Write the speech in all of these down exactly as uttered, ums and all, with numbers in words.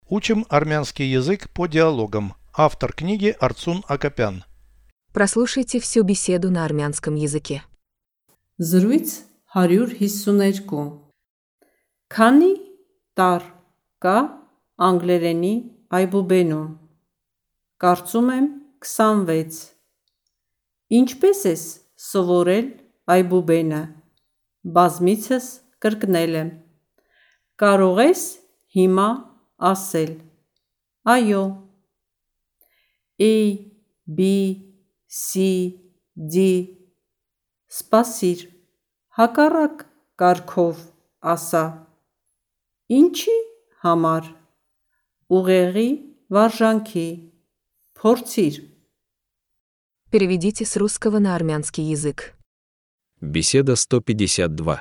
Учим армянский язык по диалогам. Автор книги Арцун Акопян. Прослушайте всю беседу на армянском языке. Զրույց հարյուր հիսուներկու Քանի տար կա անգլերենի այբուբենում։ Կարծում եմ քսանվեց։ Ինչպես ես սովորել այբուբենը։ Բազմիցս կրկնել եմ։ Կարող ես հիմա ասել։ Այո։ A, B, C, D Սպասիր, հակառակ կարգով ասա։ Ինչի համար։ Ուղեղի վարժանքի։ Փորձիր։ Переведите с русского на армянский язык. Беседа сто пятьдесят два.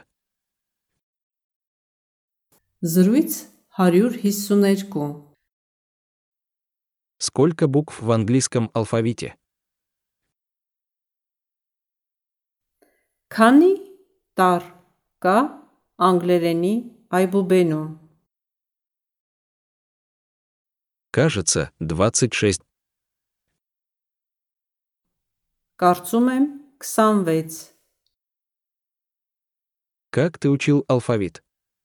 Զրույց հարյուր հիսուներկու Сколько букв в английском алфавите? Քանի տար կա անգլերենի այբուբենում։ Кажется, двадцать шесть. Կարծում եմ քսանվեց։ Как ты учил алфавит?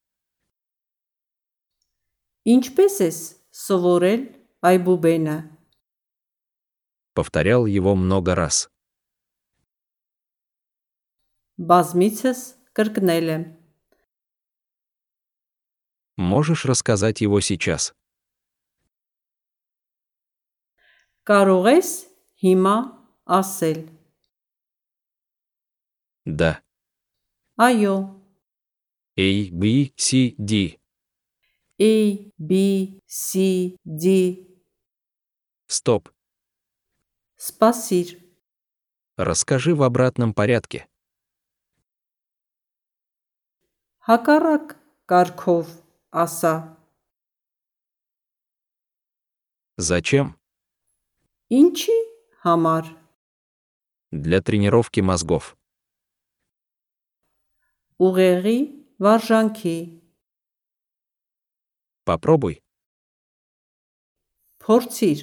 Ինչպես ես սովորել այբուբենը։ Повторял его много раз. Բազմիցս կրկնել եմ։ Можешь рассказать его сейчас? Կարող ես հիմա ասել։ Да. Այո։ A, B, C, D. A, B, C, D Стоп. Սպասիր։ Расскажи в обратном порядке. Հակառակ կարգով ասա։ Зачем? Ինչի համար։ Для тренировки мозгов. Ուղեղի վարժանքի։ Попробуй. Փորձիր։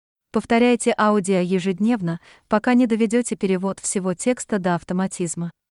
Повторяйте аудио ежедневно, пока не доведете перевод всего текста до автоматизма.